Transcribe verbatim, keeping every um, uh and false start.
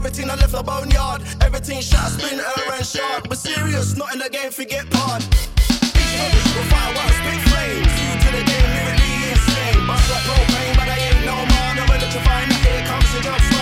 everything I left the boneyard. Everything shot, splinter and shard. We're serious, not in the game, forget part. We'll fireworks, big flames. You to the game, lyrically insane. Bust like propane, but I ain't no more. No electrifying, here comes the drugs.